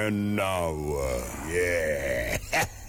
And now, yeah.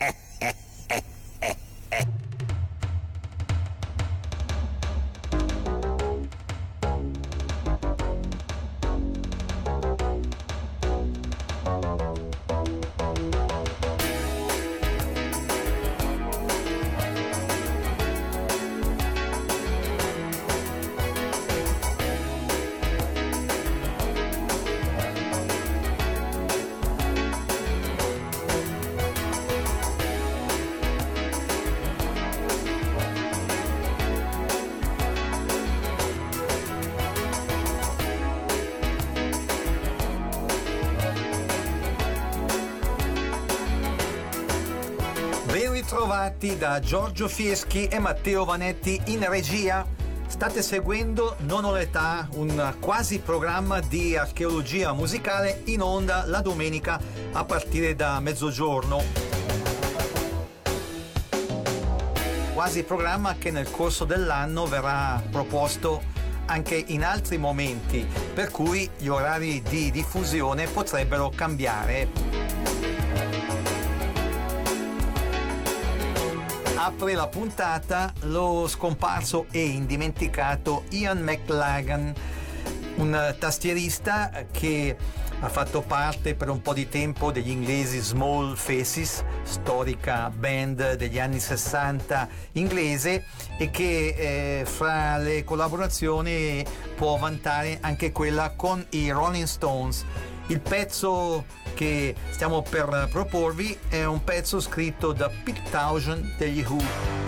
Ben ritrovati da Giorgio Fieschi e Matteo Vanetti in regia. State seguendo Non ho l'età, un quasi programma di archeologia musicale in onda la domenica a partire da mezzogiorno. Quasi programma che nel corso dell'anno verrà proposto anche in altri momenti, per cui gli orari di diffusione potrebbero cambiare. Apre la puntata lo scomparso e indimenticato Ian McLagan, un tastierista che ha fatto parte per un po' di tempo degli inglesi Small Faces, storica band degli anni 60 inglese, e che fra le collaborazioni può vantare anche quella con i Rolling Stones. Il pezzo che stiamo per proporvi è un pezzo scritto da Pete Townshend degli Who,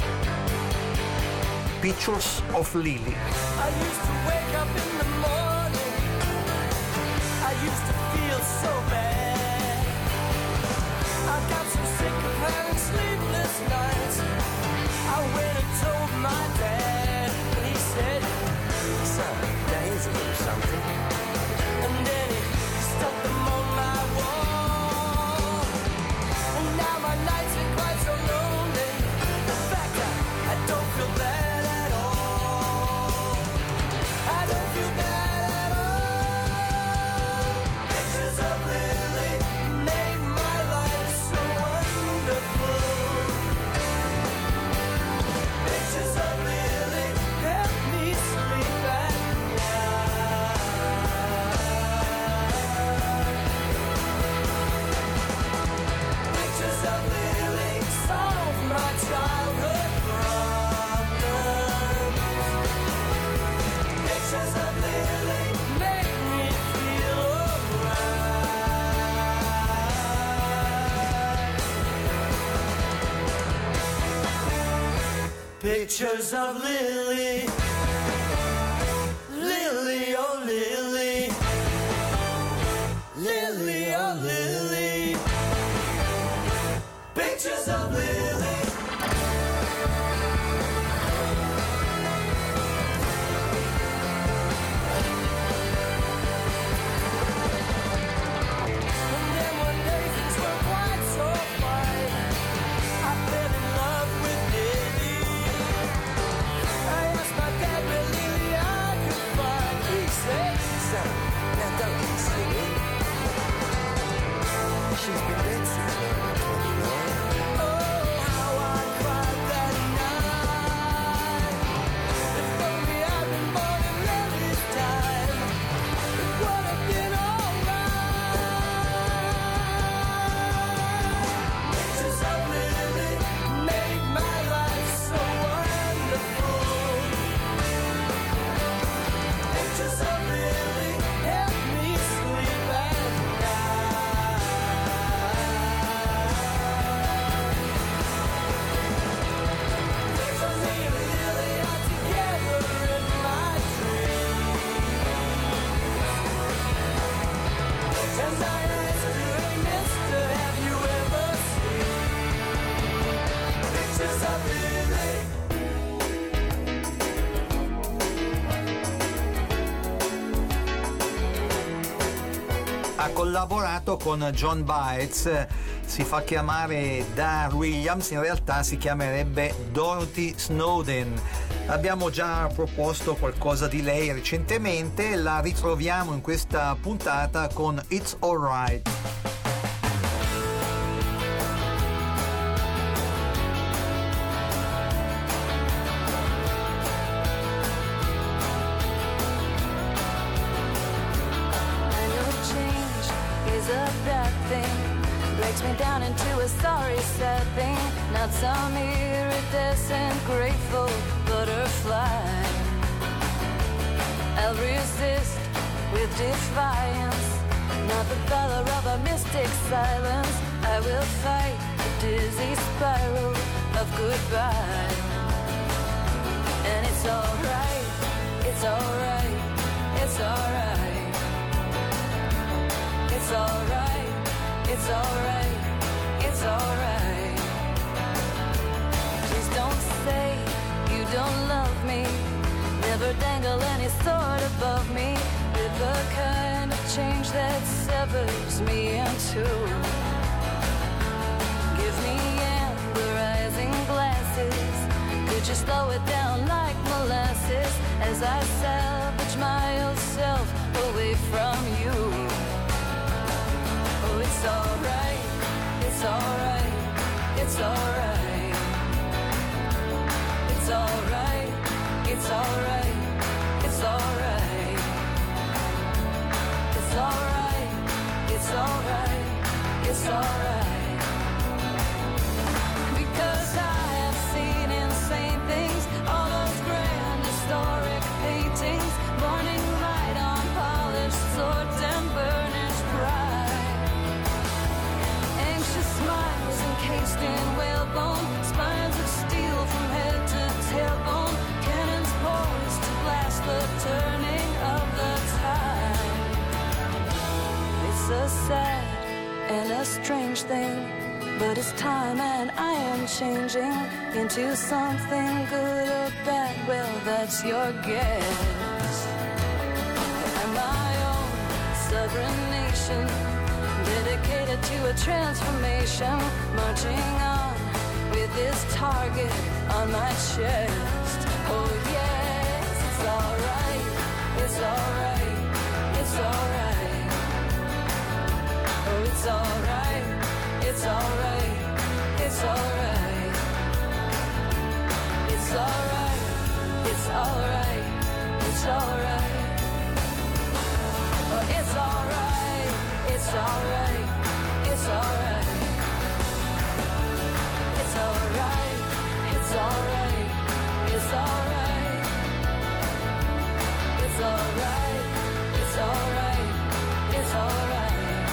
Pictures of Lily. I used to wake up in the morning, I used to feel so bad, I got so sick of having sleepless nights, I went and told my dad, and he said, son, now here's a little something, and then he stuck them on my wall, and now my nights are quite so lonely, the fact I don't feel bad at all, I don't feel bad at all. Pictures of Lily made my life so wonderful. Pictures of Lily help me sleep at night. Pictures of Lily solve my childhood problems. Pictures of Lily make me feel alright. Pictures of Lily, Lily, oh Lily, Lily, oh Lily. Pictures of Lily. And then one day things were quite so fine, I fell in love with Lily. I asked my dad where Lily I could find. He said, son, now don't be silly, she's been dead since 1929. Oh, how I cried that night. If only I'd been born in Lily's time, it would have been alright. Pictures of Lily made my life so wonderful. Pictures of Lily help me sleep at night. Pictures of me and Lily are together in my dreams. And I asked her, mister, have you ever seen pictures of Lily? Ha collaborato con John Baez, si fa chiamare Dar Williams, in realtà si chiamerebbe Dorothy Snowden. Abbiamo già proposto qualcosa di lei recentemente, la ritroviamo in questa puntata con It's Alright. down into a sorry sad thing, not some iridescent grateful butterfly. I'll resist with defiance, not the valor of a mystic silence. I will fight the dizzy spiral of goodbye. And it's alright, it's alright, it's alright. It's alright, it's alright, it's alright. Please don't say you don't love me. Never dangle any sword above me with the kind of change that severs me in two. Give me amber-rising glasses. Could you slow it down like molasses as I salvage my old self away from you? Oh, it's alright, it's alright, it's alright. It's alright, it's alright, it's alright. It's alright, it's alright, it's alright. Because I have seen insane things, all those grand historic paintings, burning light on polished swords and burnished pride. Anxious smiles encased in whalebone, spines of steel from head to tailbone, cannons poised to blast the turning of the tide. It's a sad and a strange thing, but it's time and I am changing into something good or bad, well that's your guess. I'm my own sovereign nation, dedicated to a transformation, marching on with this target on my chest. Oh yes, it's alright, it's alright, it's alright. Oh, it's alright, it's alright, it's alright. It's alright, it's alright, it's alright. Oh, it's alright, it's alright, it's alright. It's alright, it's alright, it's alright. It's alright, it's alright, it's alright.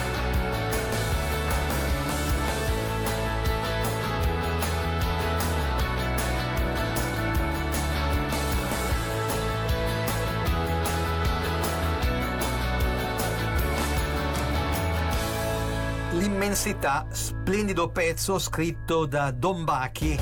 L'immensità, splendido pezzo scritto da Don Buchy,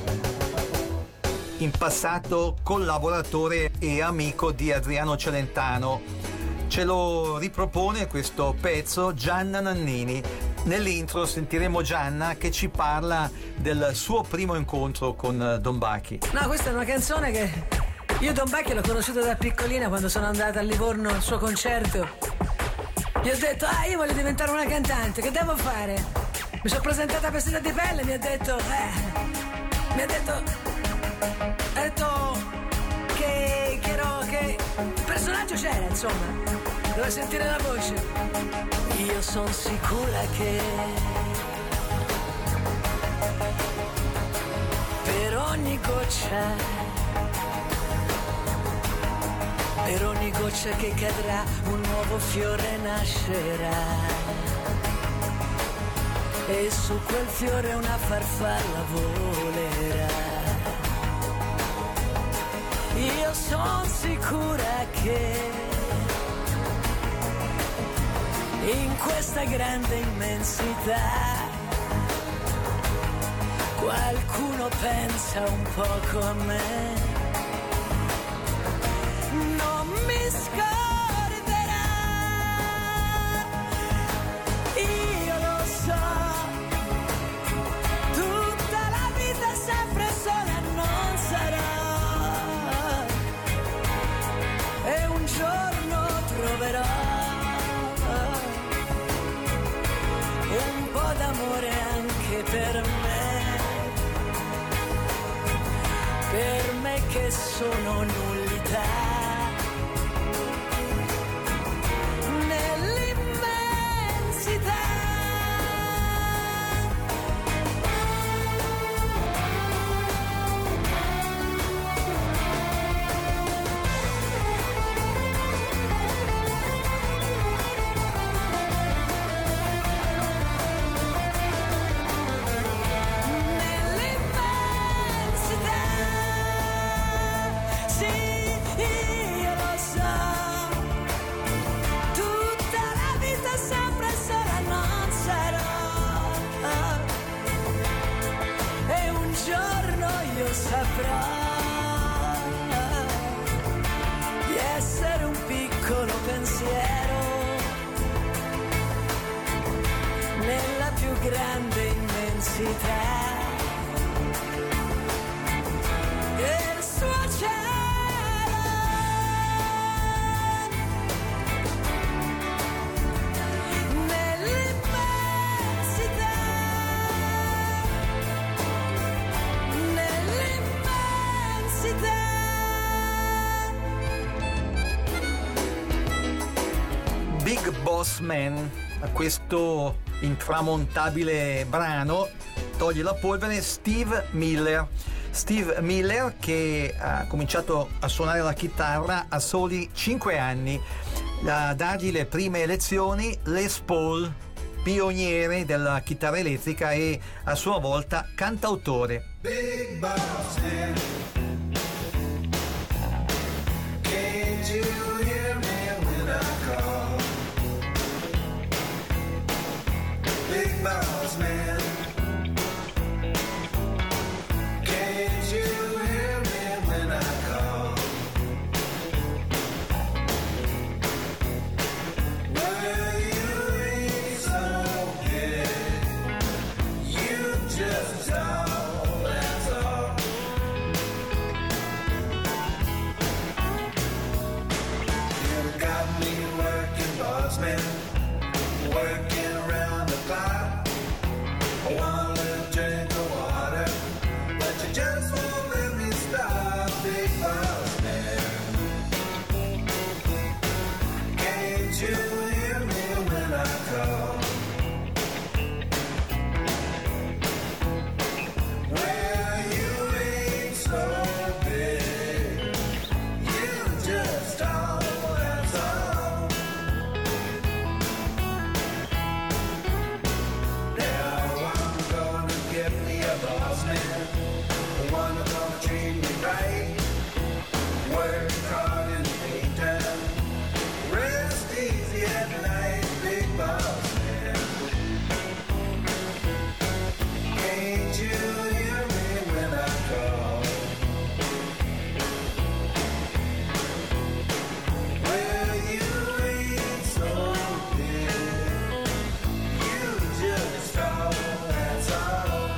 in passato collaboratore e amico di Adriano Celentano. Ce lo ripropone questo pezzo Gianna Nannini. Nell'intro sentiremo Gianna che ci parla del suo primo incontro con Don Buchy. No, questa è una canzone che io Don Buchy l'ho conosciuto da piccolina, quando sono andata a Livorno al suo concerto. Gli ho detto, io voglio diventare una cantante, che devo fare? Mi sono presentata vestita di pelle e mi ha detto che il personaggio c'era, insomma, doveva sentire la voce. Io sono sicura che per ogni goccia che cadrà un nuovo fiore nascerà, e su quel fiore una farfalla volerà. Io sono sicura che in questa grande immensità qualcuno pensa un po' come me. Non mi scorderà, io lo so, tutta la vita sempre sola non sarò, e un giorno troverò un po' d'amore anche per me che sono nullità. saprà di essere un piccolo pensiero nella più grande immensità. Il suo cielo nell'immensità, nell'immensità. Big Boss Man, a questo intramontabile brano toglie la polvere Steve Miller. Steve Miller che ha cominciato a suonare la chitarra a soli 5 anni, a dargli le prime lezioni Les Paul, pioniere della chitarra elettrica e a sua volta cantautore. Big boss man, can't you hear me when I call? Big boss man, can't you hear me when I call? Well, you ain't so good, you just all, that's all. You got me working, boss man, working around the clock. I want a drink of water, but you just won't let me stop, big boss man. Can't you hear me when I call? Well, you ain't so big, you just all, that's all. Now I'm gonna get me a boss man, one who's gonna treat me right, work hard in the daytime, rest easy at night, big boss man. Can't you hear me when I call? Well, you ain't so big, you just all, that's all.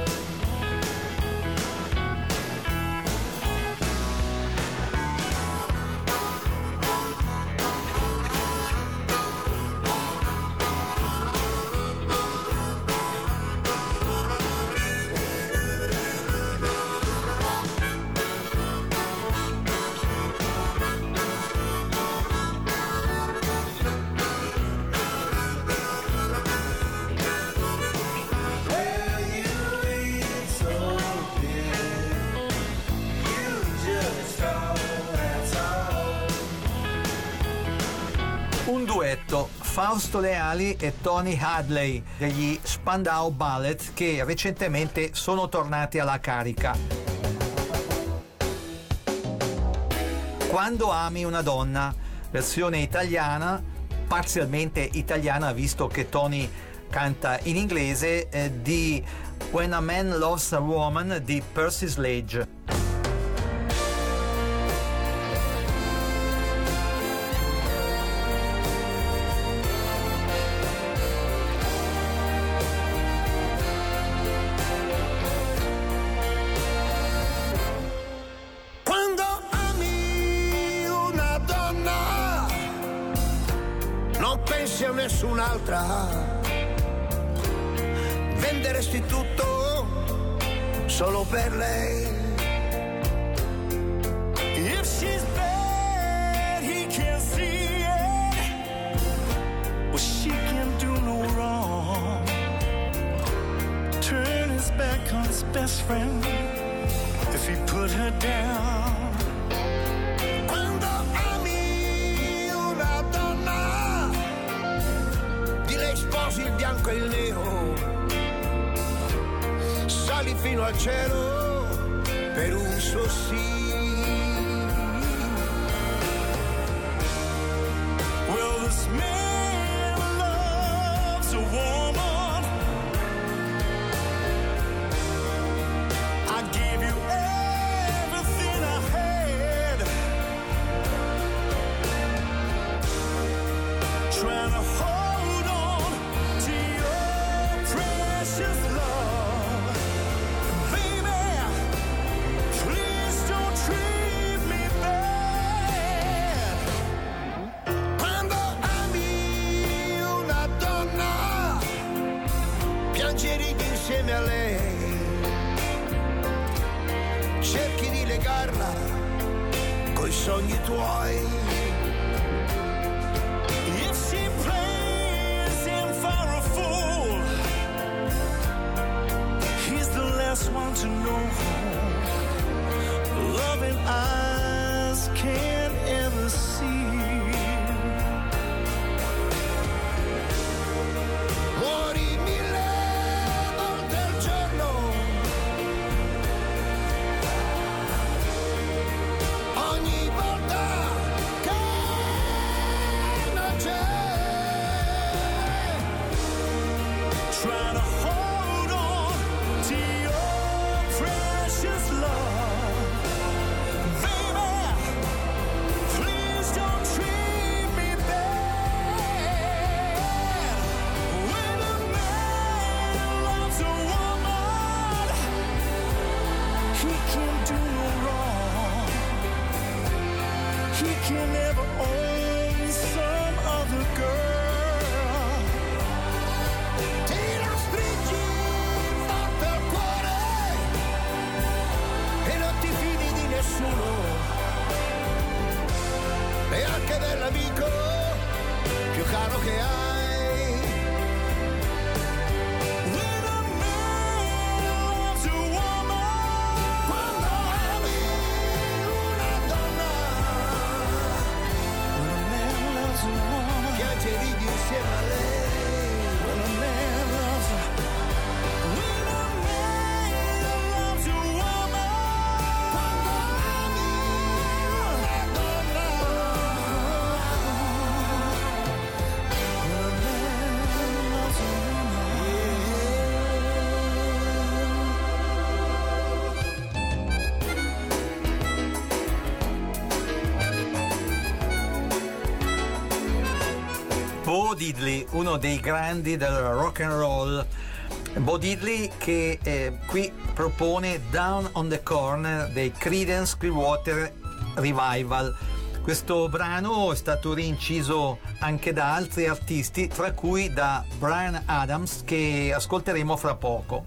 Well, you ain't so big, you just all, that's all. Un duetto, Fausto Leali e Tony Hadley degli Spandau Ballet, che recentemente sono tornati alla carica. Quando ami una donna, versione italiana, parzialmente italiana visto che Tony canta in inglese, di When a Man Loves a Woman di Percy Sledge. Quando ami una donna, non pensi a nessun'altra. Venderesti tutto solo per lei. If she's bad, he can't see it. Well, she can do no wrong. Turn his back on his best friend if he put her down. Quando ami una donna, di lei sposi il bianco e il nero, sali fino al cielo per un suo sì. Well, this man loves a woman. I give you parla coi sogni tuoi. If she plays him for a fool, he's the last one to know. Loving eyes can't ever see. Muori 1000 volte al giorno, ogni volta che non c'è. Try to hold on to your precious love. Baby, please don't treat me bad. When a man loves a woman, he can do no wrong. He can never own some other girl. Ti la stringi forte al cuore e non ti fidi di nessuno, neanche dell'amico più caro che hai. When a man loves a woman, Quando ami una donna, when a man loves a woman, piangi e ridi insieme a lei. when a man loves a, when a man loves a woman, Quando ami una donna, when a man loves a Bo Diddley, uno dei grandi del rock and roll. Bo Diddley che qui propone Down on the Corner dei Creedence Clearwater Revival. Questo brano è stato rinciso anche da altri artisti, tra cui da Bryan Adams, che ascolteremo fra poco.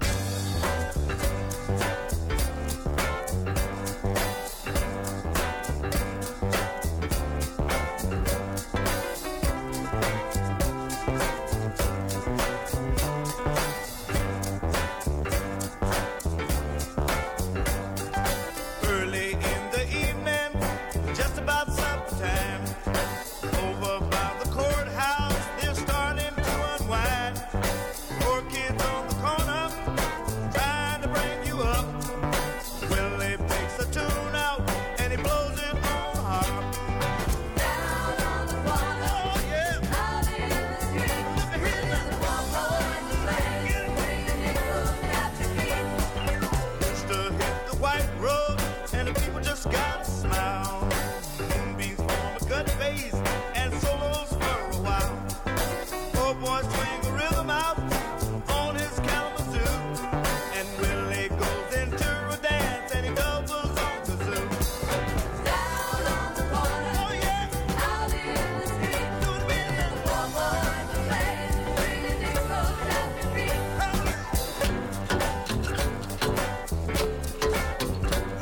early in the evening, just about supper time. Over by the courthouse, they're starting to unwind. Poor kids on the corner, trying to bring you up. Willie picks a tune out, and he blows it on the harp. Down on the corner, Oh yeah, out in the street, look at here there's a one boy to play. Bring the nickel at your feet. Used to hit the white road, and the people just gotta smile. Moonbeams form a good face, and solos for a while. Poor boy swing a rhythm out on his Kalamazoo, and Willie goes into a dance, and he doubles on the zoo. Down on the corner, Oh yeah, out in the street, do it again. there's a one boy to play. Bring the nickel at your feet.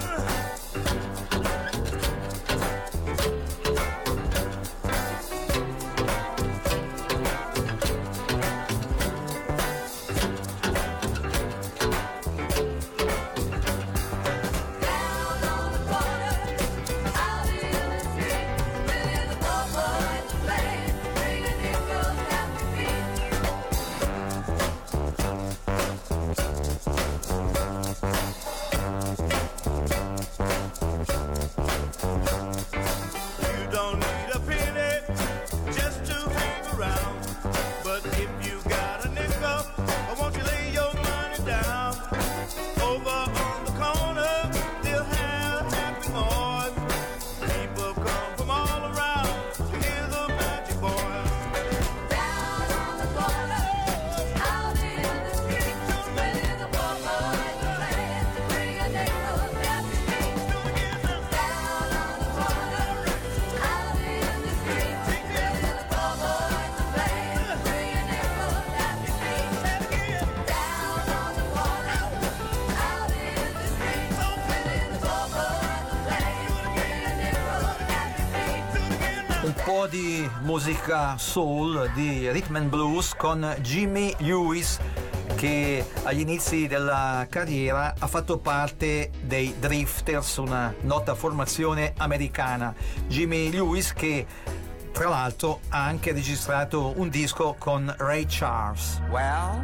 po' di musica soul, di rhythm and blues con Jimmy Lewis, che agli inizi della carriera ha fatto parte dei Drifters, una nota formazione americana. Jimmy Lewis che tra l'altro ha anche registrato un disco con Ray Charles. Well,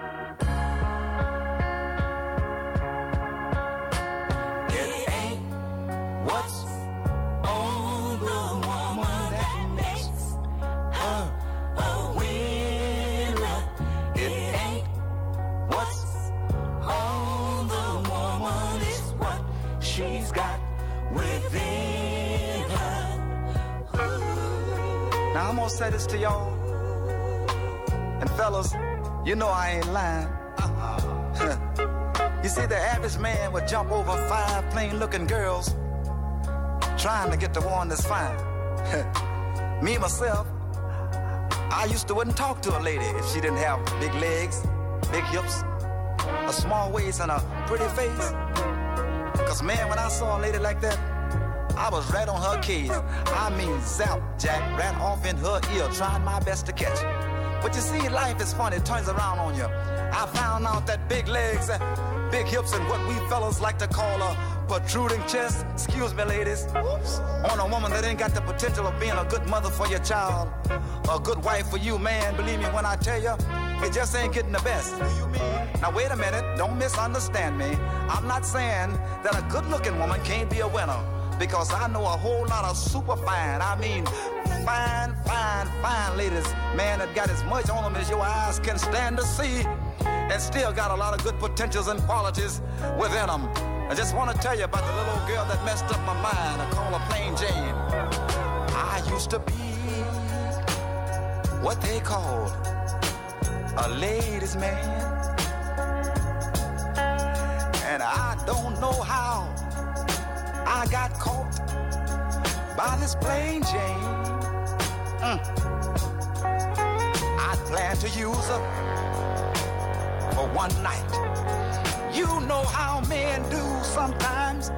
it ain't what's on the woman that makes her a winner. It ain't what's on the woman, it's what she's got within her. Now I'm gonna say this to y'all, and fellas, you know I ain't lying. You see, the average man would jump over 5 plain-looking girls trying to get the one that's fine. Me, myself, I used to wouldn't talk to a lady if she didn't have big legs, big hips, a small waist, and a pretty face. Cause man, when I saw a lady like that, I was right on her case. I mean, zap, jack, right off in her ear, trying my best to catch it. But you see, life is funny, it turns around on you. I found out that big legs, big hips, and what we fellas like to call a protruding chest, excuse me ladies, on a woman that ain't got the potential of being a good mother for your child, a good wife for you, man. Believe me when I tell you, it just ain't getting the best. Now wait a minute, don't misunderstand me. I'm not saying that a good-looking woman can't be a winner, because I know a whole lot of super fine, I mean fine, fine, fine ladies, man, that got as much on them as your eyes can stand to see, and still got a lot of good potentials and qualities within them. I just want to tell you about the little old girl that messed up my mind. I call her Plain Jane. I used to be what they call a ladies' man, and I don't know how I got caught by this Plain Jane. I planned to use her for one night. You know how men do sometimes.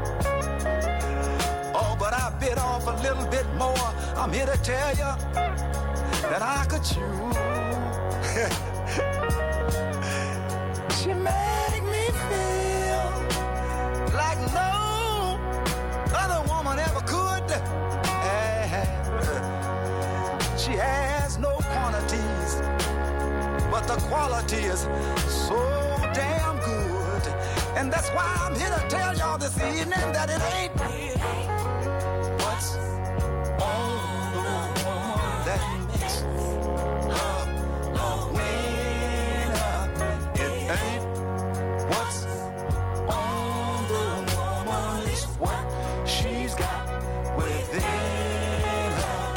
Oh, but I bit off a little bit more. I'm here to tell you that I could chew. She made me feel like no other woman ever could. She has no quantities, but the quality is so damn good. And that's why I'm here to tell y'all this evening that it ain't what's on the woman that makes her a winner. It ain't what's on the woman, it's what she's got within her.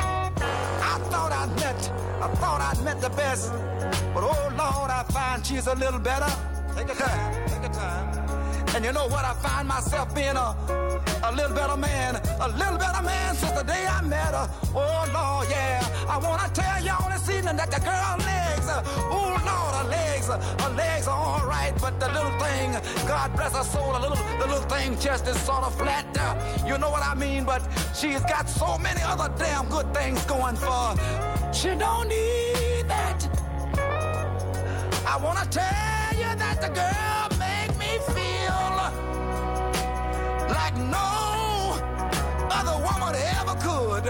I thought I'd met the best, but oh Lord, I find she's a little better. Take your time, take your time. And you know what? I find myself being a little better man since the day I met her. Oh Lord, yeah. I wanna tell y'all this evening that the girl legs, oh Lord, her legs are all right, but the little thing, God bless her soul, the little thing just is sort of flat. You know what I mean? But she's got so many other damn good things going for her. She don't need that. I wanna tell you that the girl make me feel like no other woman ever could.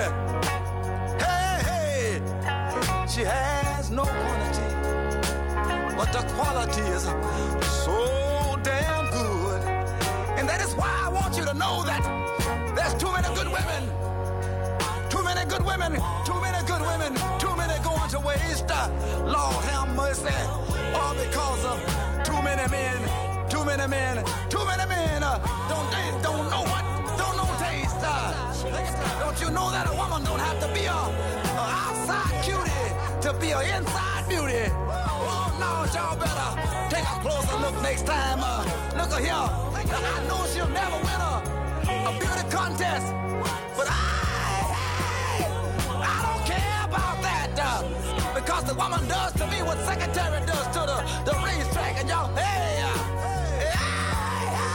Hey, she has no quantity, but the quality is so damn good. And that is why I want you to know that there's too many good women, too many good women, too many good women, too many going to waste. Lord have mercy. All because of too many men, too many men, too many men. Don't know what, don't know taste. Don't you know that a woman don't have to be a outside cutie to be an inside beauty? Oh no, y'all better take a closer look next time. Look at here. I know she'll never win a beauty contest, but I don't care about that. Because the woman does to me what secretary does to the racetrack, and y'all,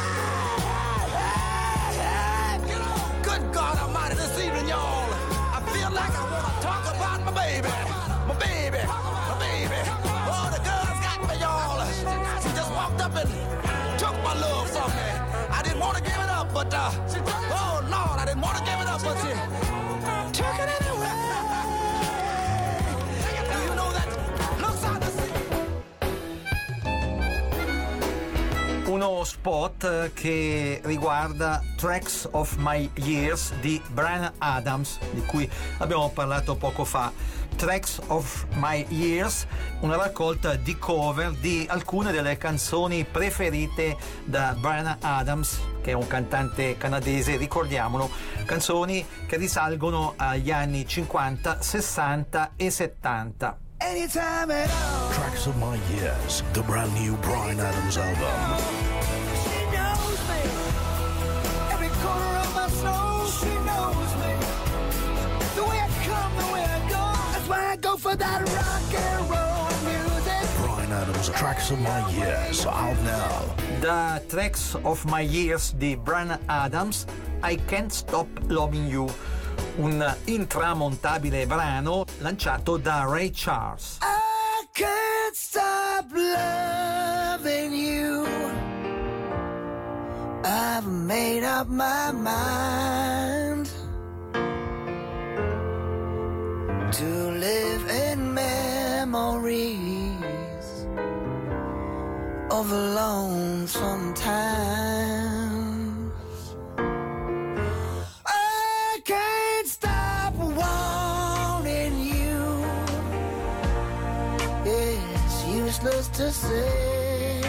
good God Almighty, this evening, y'all, I but oh Lord, I didn't want to give it up, but you took it anyway. Do you know that looks out the sea? Uno spot che riguarda Tracks of My Years di Bryan Adams, di cui abbiamo parlato poco fa. Tracks of My Years, una raccolta di cover di alcune delle canzoni preferite da Bryan Adams, che è un cantante canadese, ricordiamolo, canzoni che risalgono agli anni 50, 60 e 70. Anytime at all. Tracks of My Years, the brand new Bryan Adams album. She knows me. Every corner of my soul, she knows me. The way I come, the way I go. That's why I go for that rock and roll music. Bryan Adams, Tracks of My Years, out now. Da Tracks of My Years di Bryan Adams, I Can't Stop Loving You, un intramontabile brano lanciato da Ray Charles. I can't stop loving you. I've made up my mind to live in memories of lonesome times. I can't stop wanting you. It's useless to say,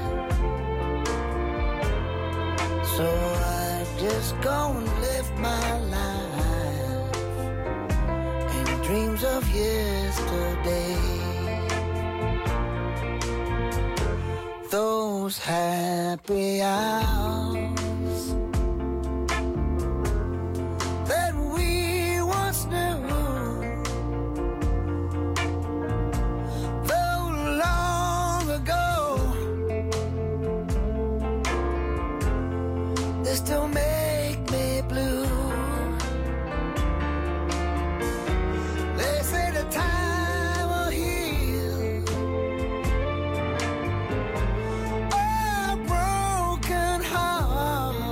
so I just go and live my life in dreams of yesterday. Those happy hours that we once knew, though long ago, they still make me blue. They say the time will heal a broken heart,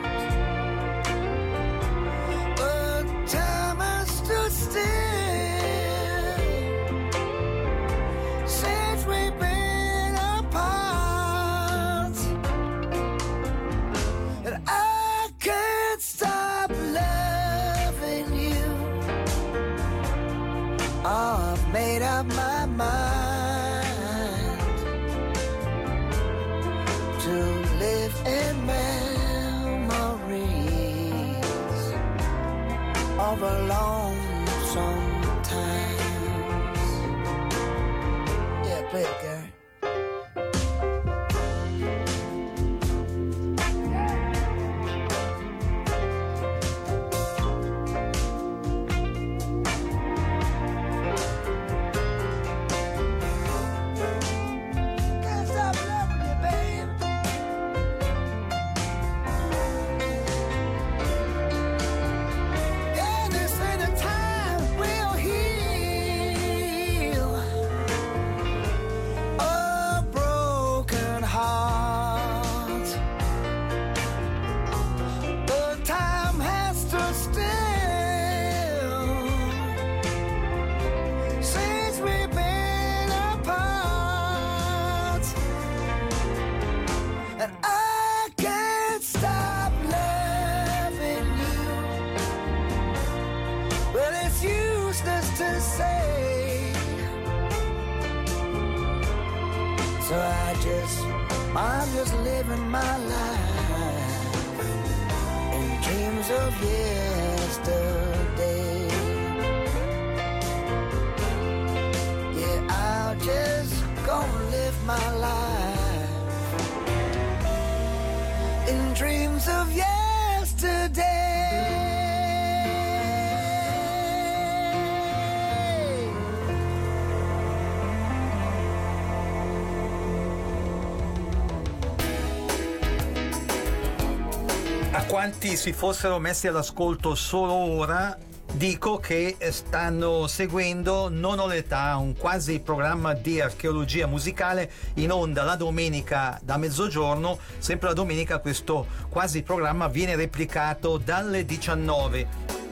but time has stood still since we've been apart, and I can't stop loving you. I've made up my mind to live in memories of a lonesome times. Yeah, play it, Gary. Can't stop loving you, babe. Yeah, they say the time will heal a broken heart, but time has stood still since we've been apart, and I can't stop loving you. Well, it's useless to say, so I'm just living my life in dreams of yesterday. Yeah, I'll just go and live my life in dreams of yesterday. A quanti si fossero messi all'ascolto solo ora, Dico che stanno seguendo Non ho l'età, un quasi programma di archeologia musicale in onda la domenica da mezzogiorno. Sempre la domenica questo quasi programma viene replicato dalle 19.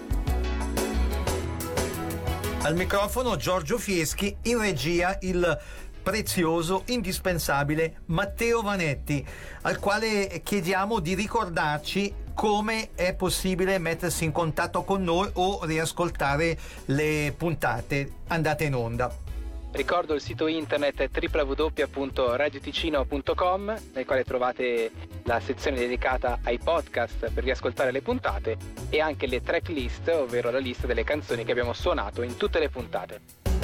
Al microfono Giorgio Fieschi, in regia il prezioso, indispensabile Matteo Vanetti, al quale chiediamo di ricordarci come è possibile mettersi in contatto con noi o riascoltare le puntate andate in onda. Ricordo il sito internet www.radioticino.com, nel quale trovate la sezione dedicata ai podcast per riascoltare le puntate e anche le track list, ovvero la lista delle canzoni che abbiamo suonato in tutte le puntate.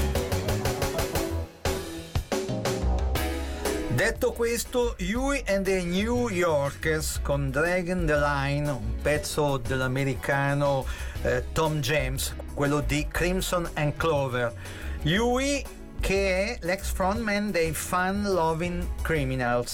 Detto questo, Huey and the New Yorkers con Dragging the Line, un pezzo dell'americano Tom James, quello di Crimson and Clover. Huey, che è l'ex frontman dei Fun Loving Criminals.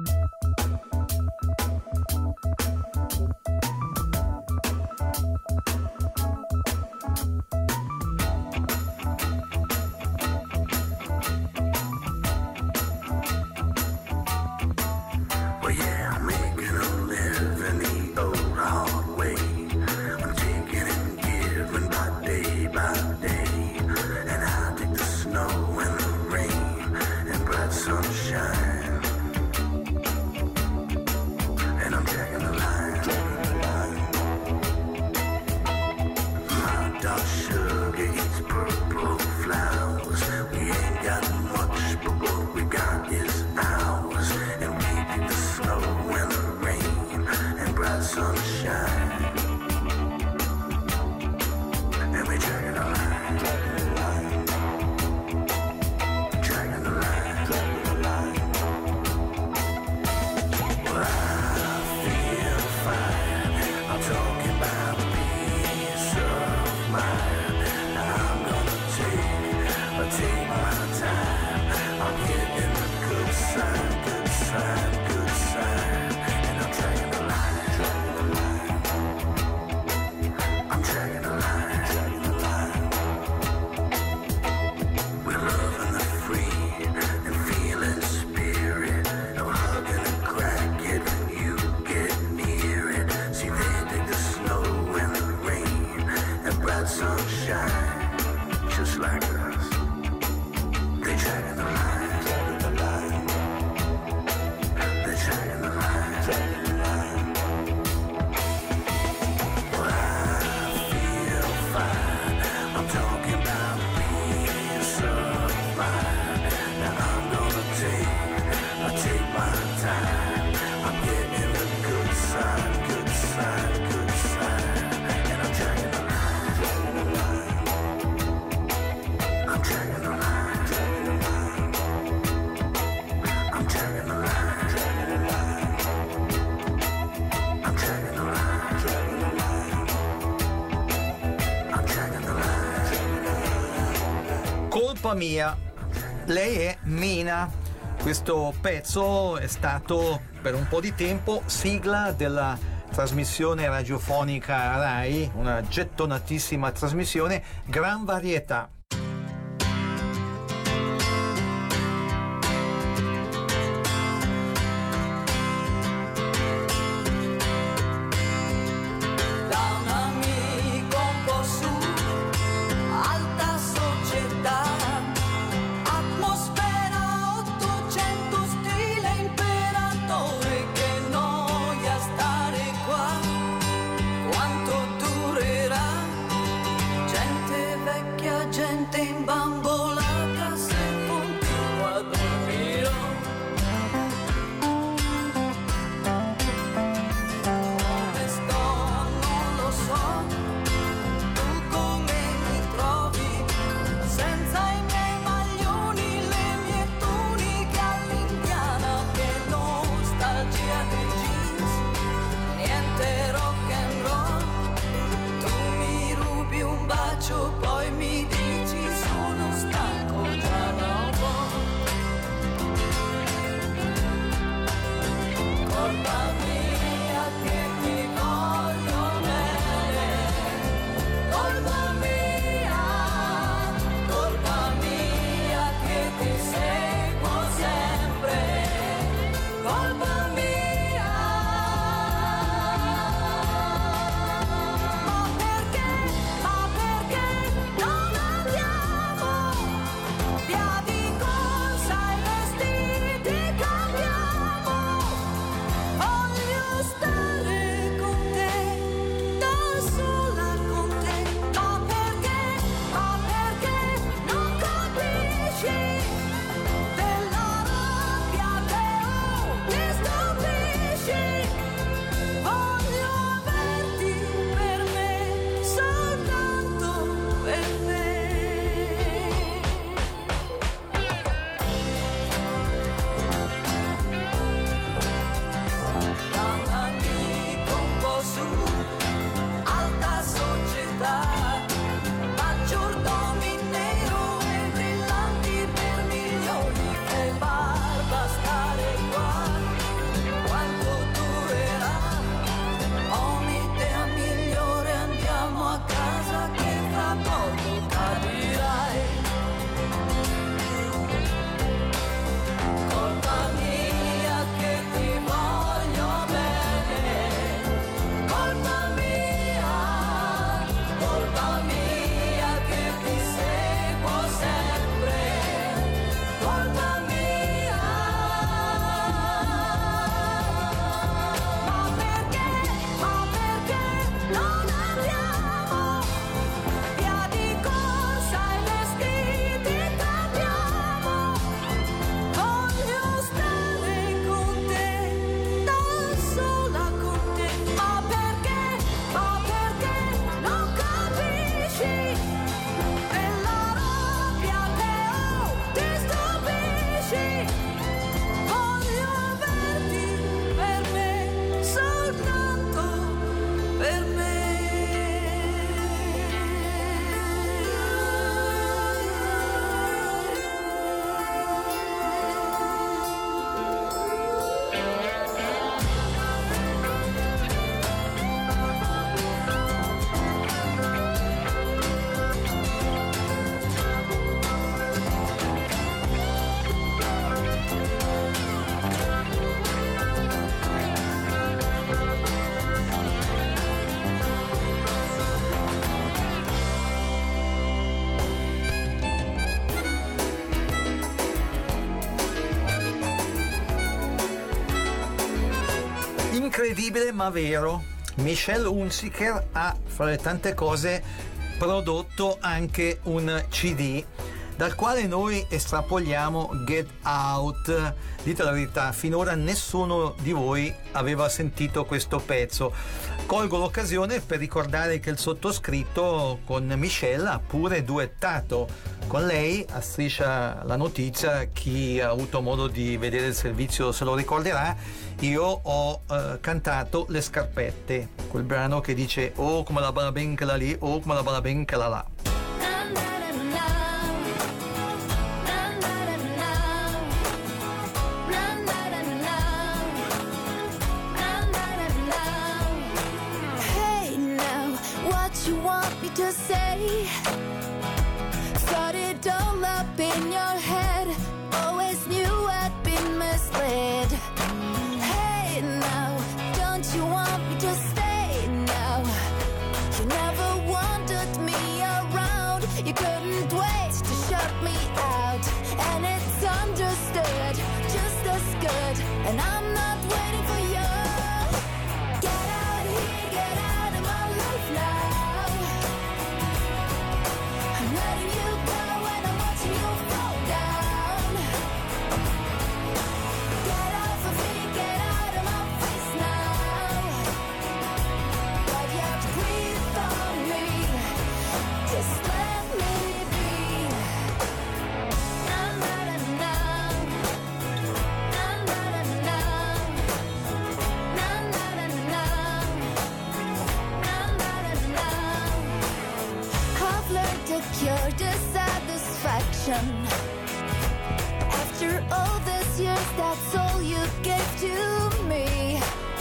Colpa mia, lei è Mina. Questo pezzo è stato per un po' di tempo sigla della trasmissione radiofonica Rai, una gettonatissima trasmissione, Gran Varietà. Gente Incredibile ma vero, Michelle Hunziker ha, fra le tante cose, prodotto anche un CD dal quale noi estrapoliamo Get Out. Dite la verità, finora nessuno di voi aveva sentito questo pezzo. Colgo l'occasione per ricordare che il sottoscritto con Michelle ha pure duettato con lei a Striscia la Notizia. Chi ha avuto modo di vedere il servizio se lo ricorderà. Io ho cantato Le Scarpette, quel brano che dice oh come la balla ben che la lì, oh come la balla ben che la là. You want me to say? Thought it all up in your head. Always knew I'd been misled. Hey now, don't you want me to stay now? You never wanted me around. You couldn't wait to shut me out. And it's understood, just as good. And I'm not waiting for you. Get out here, get out of my life now. I'm letting you go and I'm watching you fall down. Get off of me, get out of my face now. But you have to breathe on me, just let me be. Na na na na, na na na na, na na na na, na na na na. I've learned to cure dissatisfaction. After all these years, that's all you gave to me.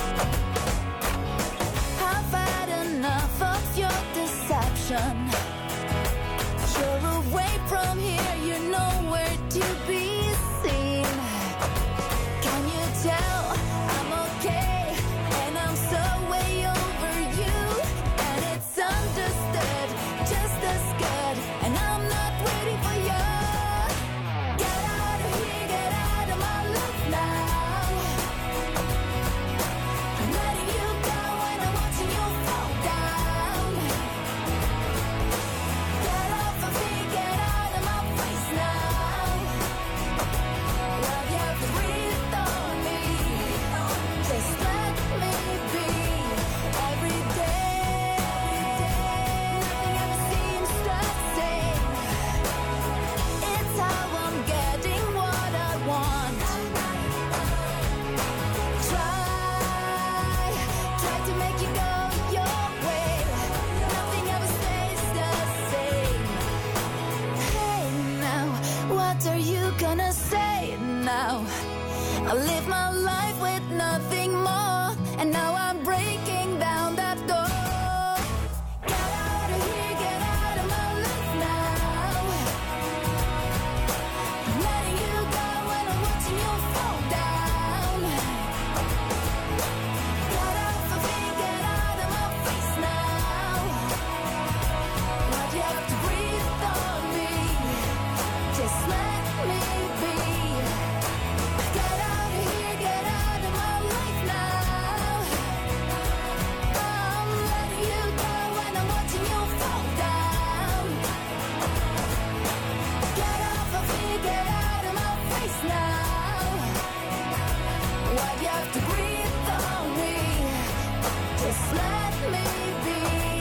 I've had enough of your deception. You're away from here, you're nowhere to be seen. Can you tell I'm okay and I'm so way over you? And it's understood, just as good. And I'm not waiting for you. Get out of here, get out of my life now. I'm letting you go and I'm watching you fall down. Get off of me, get out of my face now. Love, you have to breathe on me. Just let me be. Every day, nothing ever seems the same. It's how I'm getting what I want. Try to make you go your way. Nothing ever stays the same. Hey now, what are you gonna say now? I live my life with nothing more, and now I'm breaking down that door. Get out of here, get out of my life now. I'm letting you go and I'm watching you fall down. Get off of me, get out of my face now. But you have to breathe on me, just let me be. Get out of here, get out of my life now. I'm letting you go and I'm watching you fall down. Get off of me, get out of my face now. Why do you have to breathe on me? Just let me be.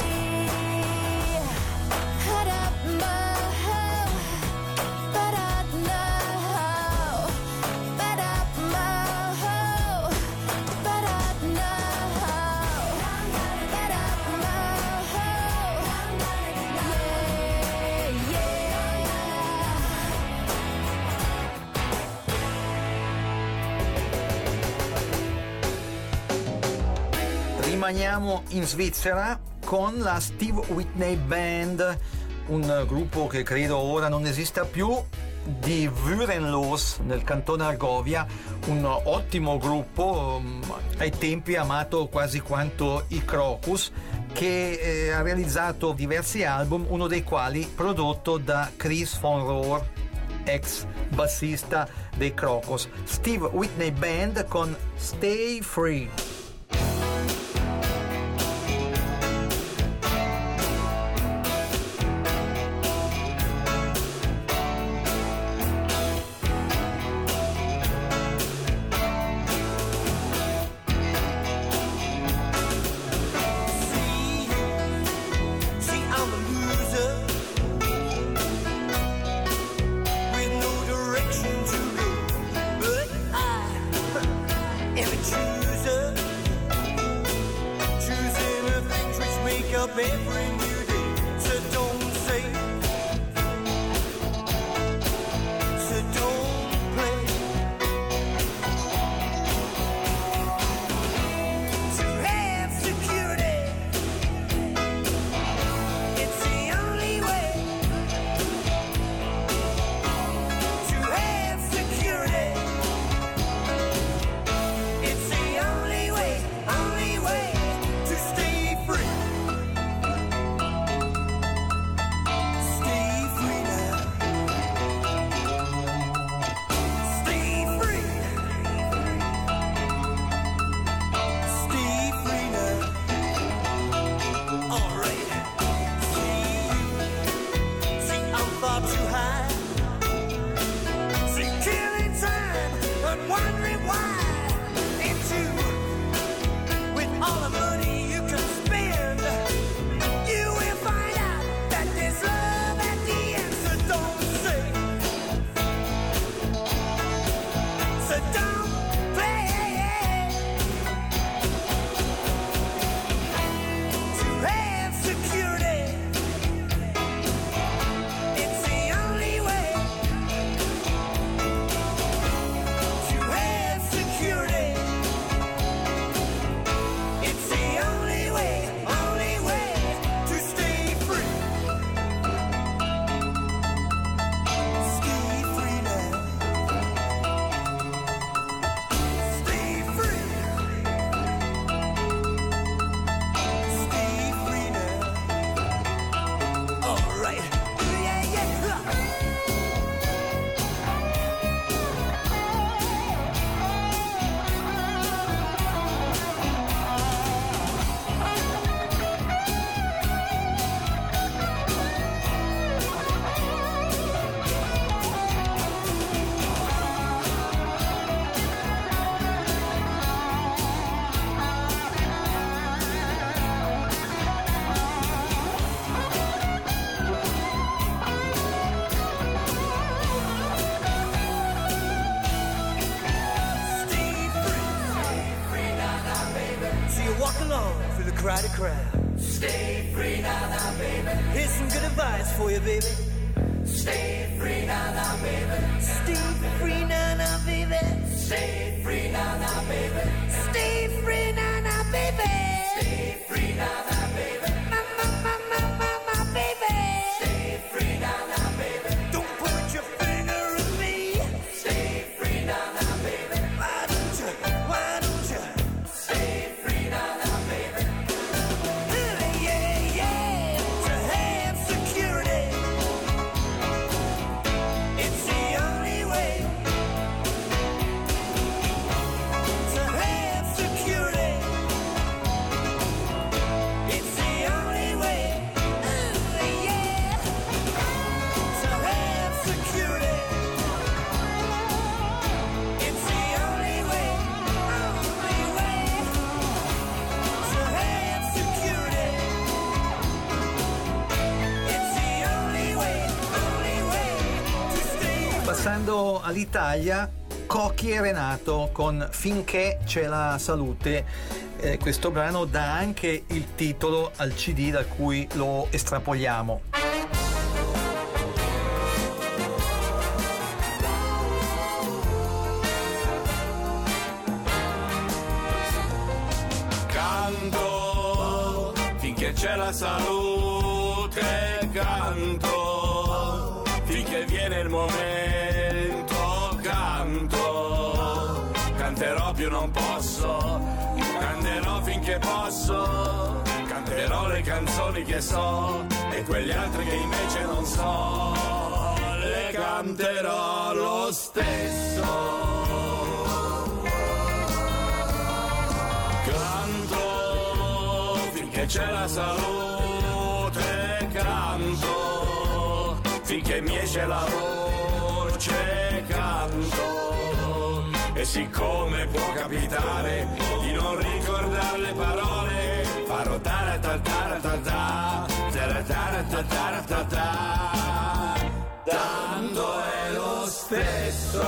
Rimaniamo in Svizzera con la Steve Whitney Band, un gruppo che credo ora non esista più, di Würenlos nel cantone Argovia, un ottimo gruppo, ai tempi amato quasi quanto i Crocus, che ha realizzato diversi album, uno dei quali prodotto da Chris von Rohr, ex bassista dei Crocus. Steve Whitney Band con Stay Free. every new day. So don't say, so don't play. To have security, it's the only way. To have security, it's the only way to stay free. Stay free now. Stay free. Stay free now. All right. See, I'm far too high. See, killing time and wondering why. And two, with all the money you can spend, you will find out that there's love at the end. So don't say, so don't play. To have security, it's the only way. To have security, it's the only way to stay free. Stay free now. Stay free. Stay free now. All right. Yeah, yeah. So you walk along through the crowded crowd. Stay free now, baby. Here's some good advice for you, baby. Stay free now, baby. Stay free now, baby. Stay free now, baby. Stay free now, baby. Stay free now, baby. My baby. Stay free now, baby. Don't point your finger at me. Stay free now, baby. Why don't you? Stay free now, baby. Yeah, yeah. To have security, it's the only way. To have security, it's the only way. Yeah. To have security, it's the only way. To have security, it's the only way to stay. Passando all'Italia, Cocchi e Renato con Finché c'è la salute. Questo brano dà anche il titolo al CD da cui lo estrapoliamo. Canto finché c'è la salute, canto finché viene il momento, canterò più non posso, canterò finché posso, canterò le canzoni che so e quegli altri che invece non so, le canterò lo stesso. Canto finché c'è la salute, canto finché mi esce la voce, canto. E siccome può capitare di non ricordare le parole, farò ta-ra-ta-ta-ra-ta-ta, ta-ra-ta-ra-ta-ta-ra-ta-ta, tanto è lo stesso.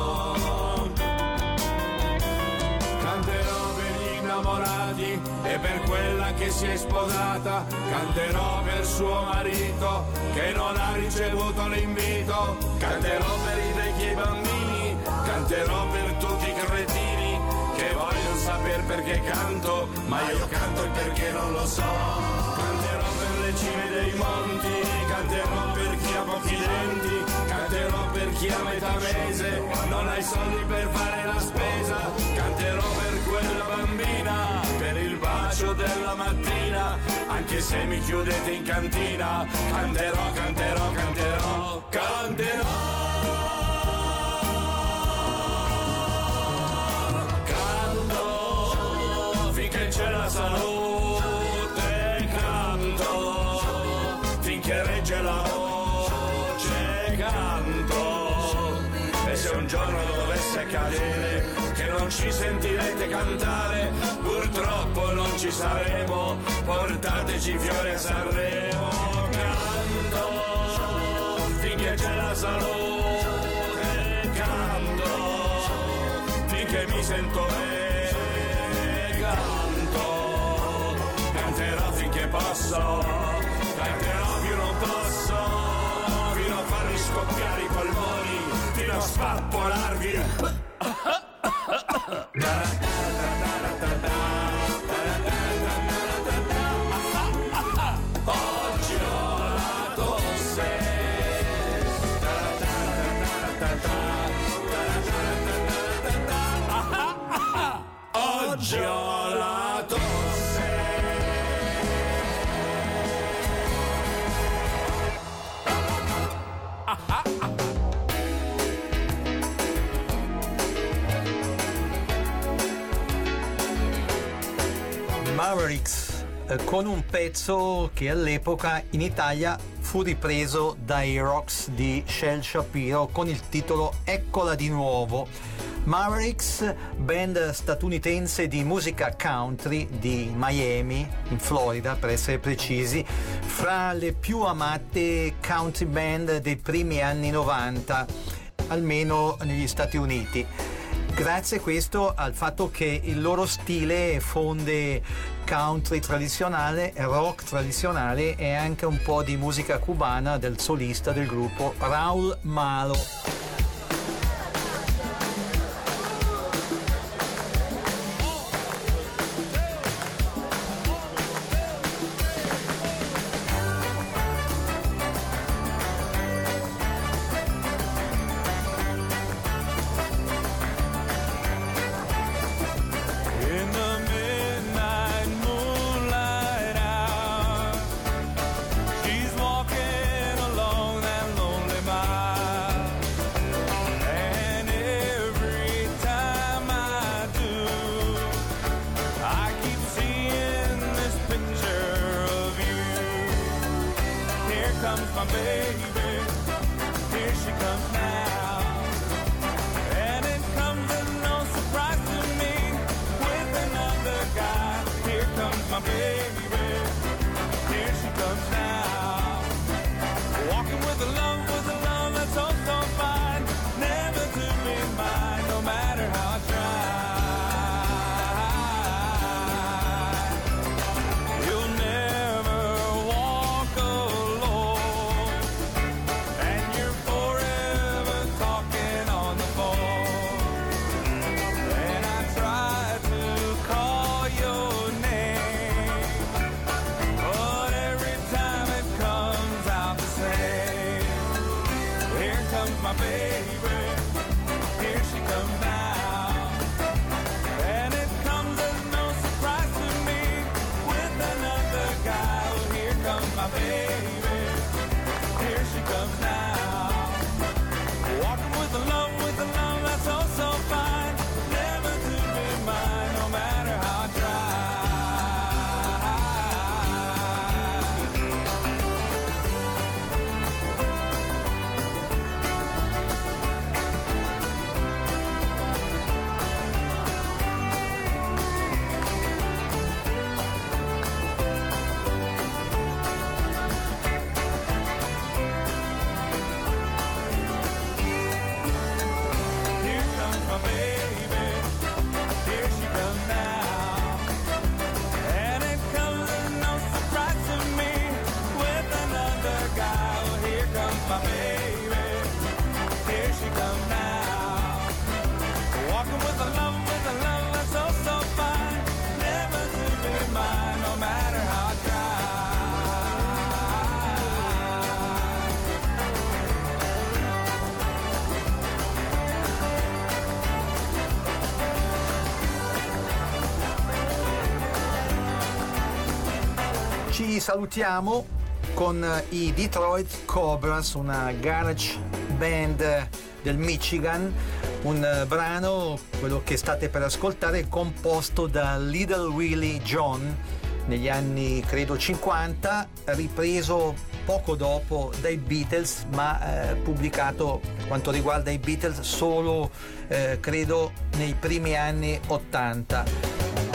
Canterò per gli innamorati e per per quella che si è sposata, canterò per suo marito che non ha ricevuto l'invito, canterò per i vecchi e i bambini, canterò per tutti i cretini che vogliono saper perché canto, ma io canto il perché non lo so. Canterò per le cime dei monti, canterò per chi ha pochi denti, canterò per chi a metà mese non ha i soldi per fare la spesa, canterò per quella bambina, per il bacio della mattina, anche se mi chiudete in cantina, canterò, canterò, canterò, canterò. Canto finché c'è la salute, canto finché regge la voce, canto. E se un giorno dovesse accadere che non ci sentirete cantare, purtroppo non ci saremo, portateci fiori a Sanremo. Canto finché c'è la salute, canto finché mi sento bene, canto, canterò finché posso, canterò più non posso, fino a farmi scoppiare i polmoni, fino a spappolarvi. Oggi ho la tosse. Oggi ho la tosse. Mavericks, con un pezzo che all'epoca in Italia fu ripreso dai Rocks di Shel Shapiro con il titolo Eccola di nuovo. Mavericks, band statunitense di musica country di Miami, in Florida per essere precisi, fra le più amate country band dei primi anni 90, almeno negli Stati Uniti. Grazie a questo al fatto che il loro stile fonde country tradizionale, rock tradizionale e anche un po' di musica cubana del solista del gruppo Raúl Malo. Ci salutiamo con i Detroit Cobras, una garage band del Michigan, un brano, quello che state per ascoltare, composto da Little Willie John negli anni credo 50, ripreso poco dopo dai Beatles, ma pubblicato per quanto riguarda i Beatles solo credo nei primi anni 80.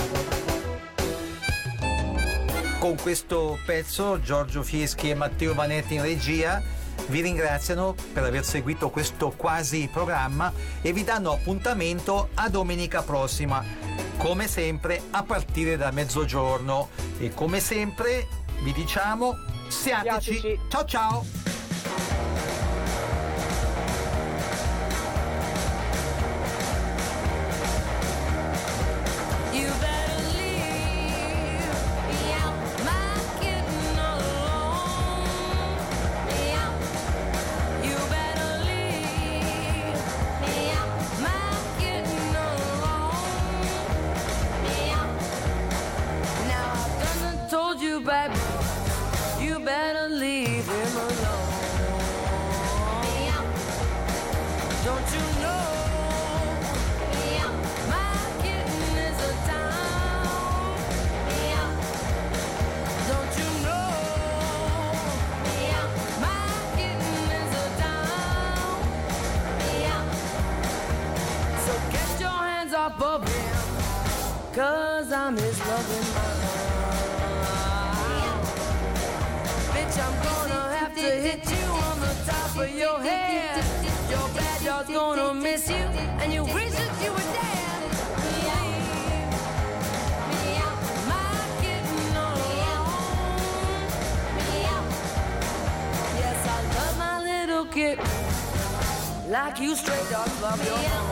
Con questo pezzo Giorgio Fieschi e Matteo Vanetti in regia vi ringraziano per aver seguito questo quasi programma e vi danno appuntamento a domenica prossima, come sempre a partire da mezzogiorno, e come sempre vi diciamo siateci. Ciao ciao. Baby, you better leave him alone. Don't you know my kitten is a down? Don't you know my kitten is a down? So get your hands off of him, 'cause I'm his loving man. I'm gonna have to hit you on the top of your head. Your bad dog's gonna miss you, and you wish that you were dead. My kitten alone. Yes, I love my little kitten, like you stray dogs love your own.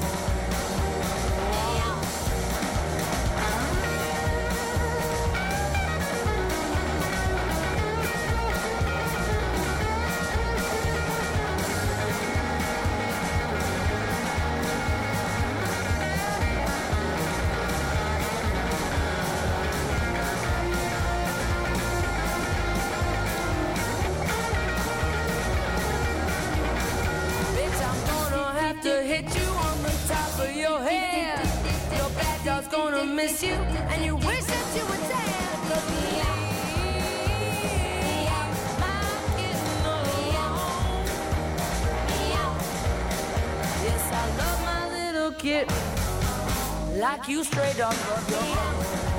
Miss you, and you wish that you were dead. Look me my kitten alone. Yes, I love my little kitten, like you stray dogs love your own.